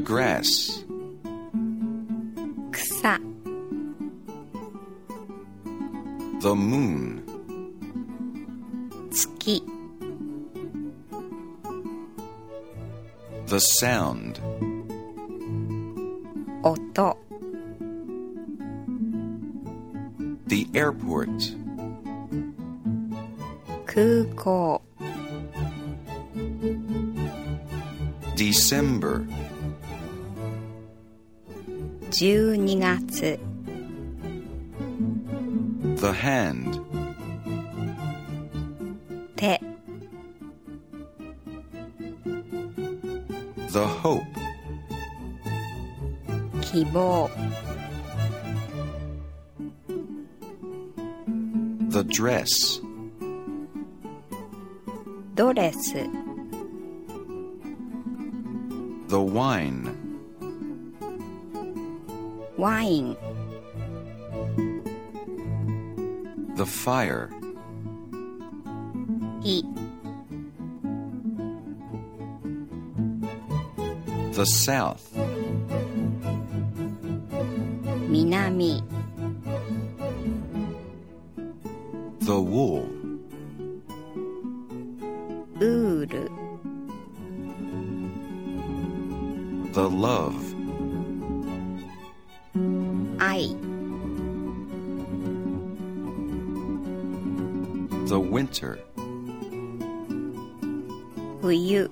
grass, 草 the moon, 月 the sound, 音 the airport, 空港 December, 12月 the hand, 手 the hope, 希望 the dress, ドレス the wine, ワイン the fire, 火 the south, 南 the wool, ウール the love, 愛 the winter, 冬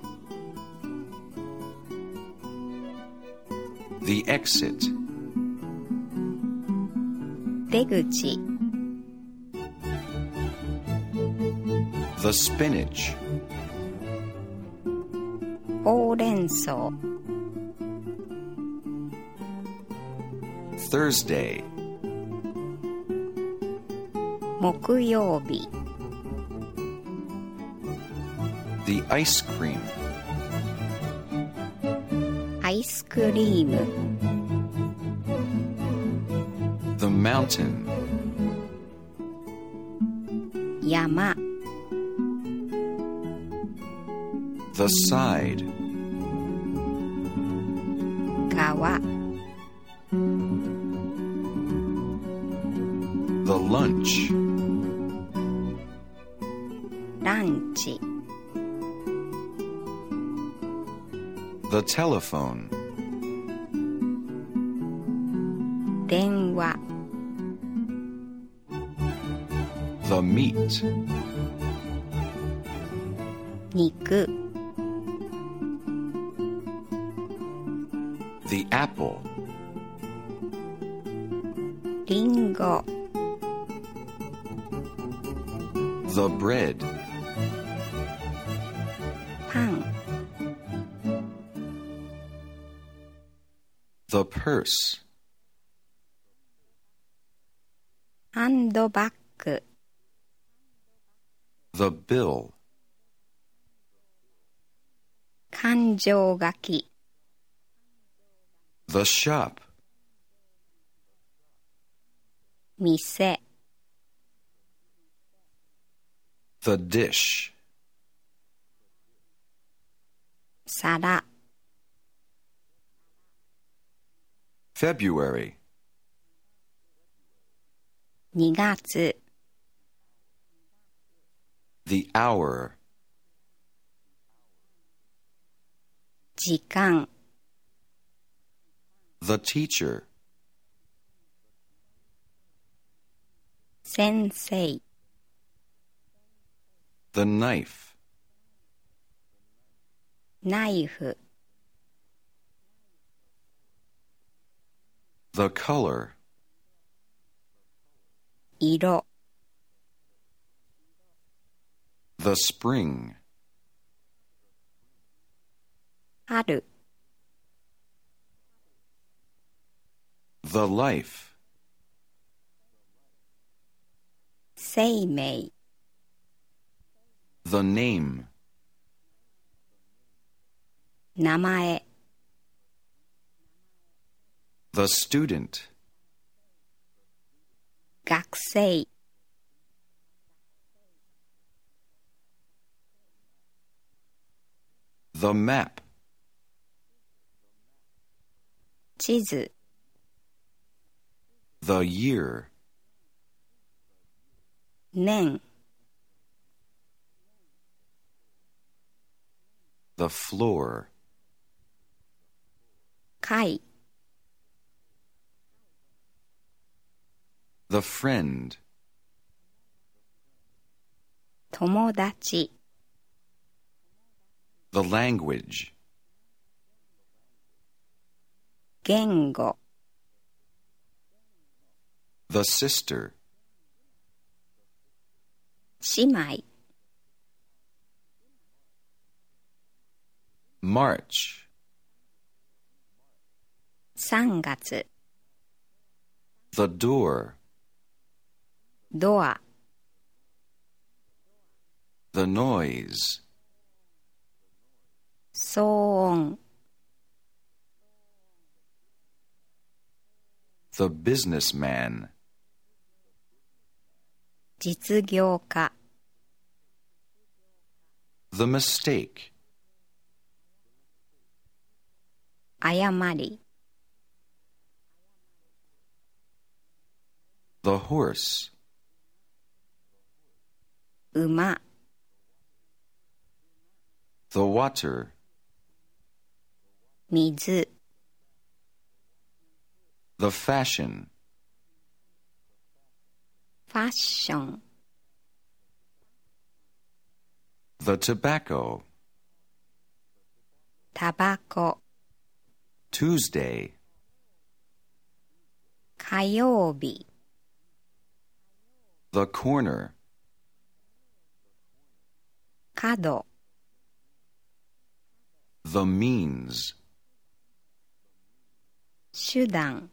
the exit, 出口 the spinach, ほうれん草 Thursday, 木曜日 the ice cream, アイスクリーム the mountain, 山 the side, 川 the lunch, ランチ the telephone, 電話 the meat, 肉 the apple, リンゴ the bread, パン the purse, ハンドバッグ the bill, 勘定書き the shop, 店 the dish, 皿 February, 2月 the hour, 時間 the teacher, 先生 the knife, ナイフ the color, 色 the spring, 春 the life, 生命 the name, 名前 the student, 学生 the map, 地図 The year. 年 The floor. 階 The friend. 友達 The language. 言語 The sister. 姉妹 March. 3月 The door. ドア The noise. 騒音 The businessman. 実業家 The mistake. 誤り The horse. 馬 The water. 水 The fashion. ファッション The tobacco. タバコ Tuesday. 火曜日 The corner. 角 The means. 手段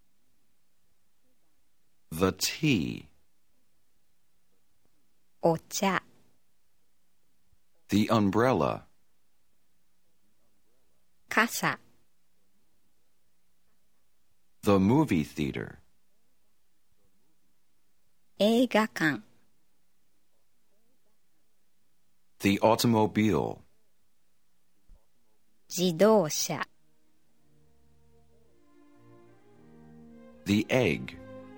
The tea. お茶 The umbrella. 傘 The movie theater. 映画館 The automobile. 自動車 The egg.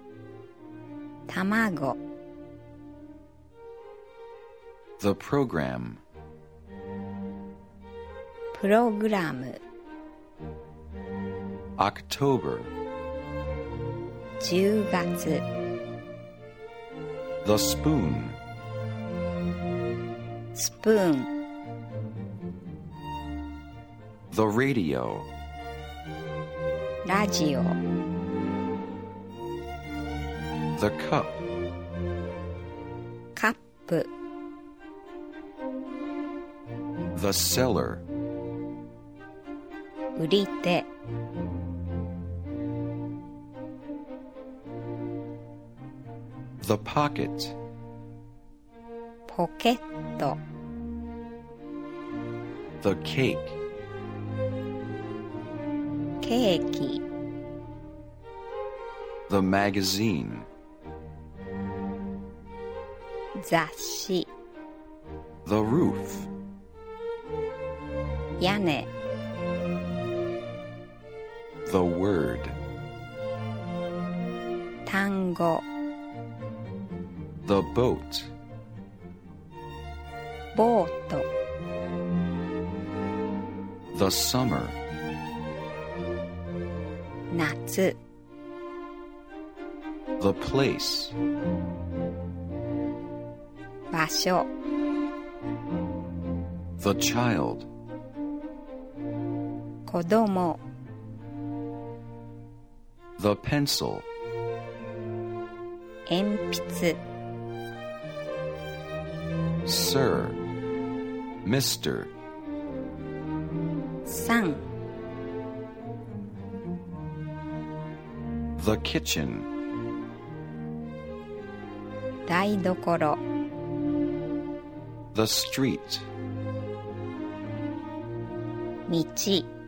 卵 The program. プログラム October. 10月 The spoon. スプーン The radio. ラジオ The cup. カップ The cellar. 売り手 The pocket. ポケット The cake. ケーキ The magazine. 雑誌 The roof. 屋根 The word. 単語 The boat. ボート The summer. 夏 The place. 場所 The child. 子供 The pencil. 鉛筆 Sir. Mr. さん The kitchen. 台所 The street. 道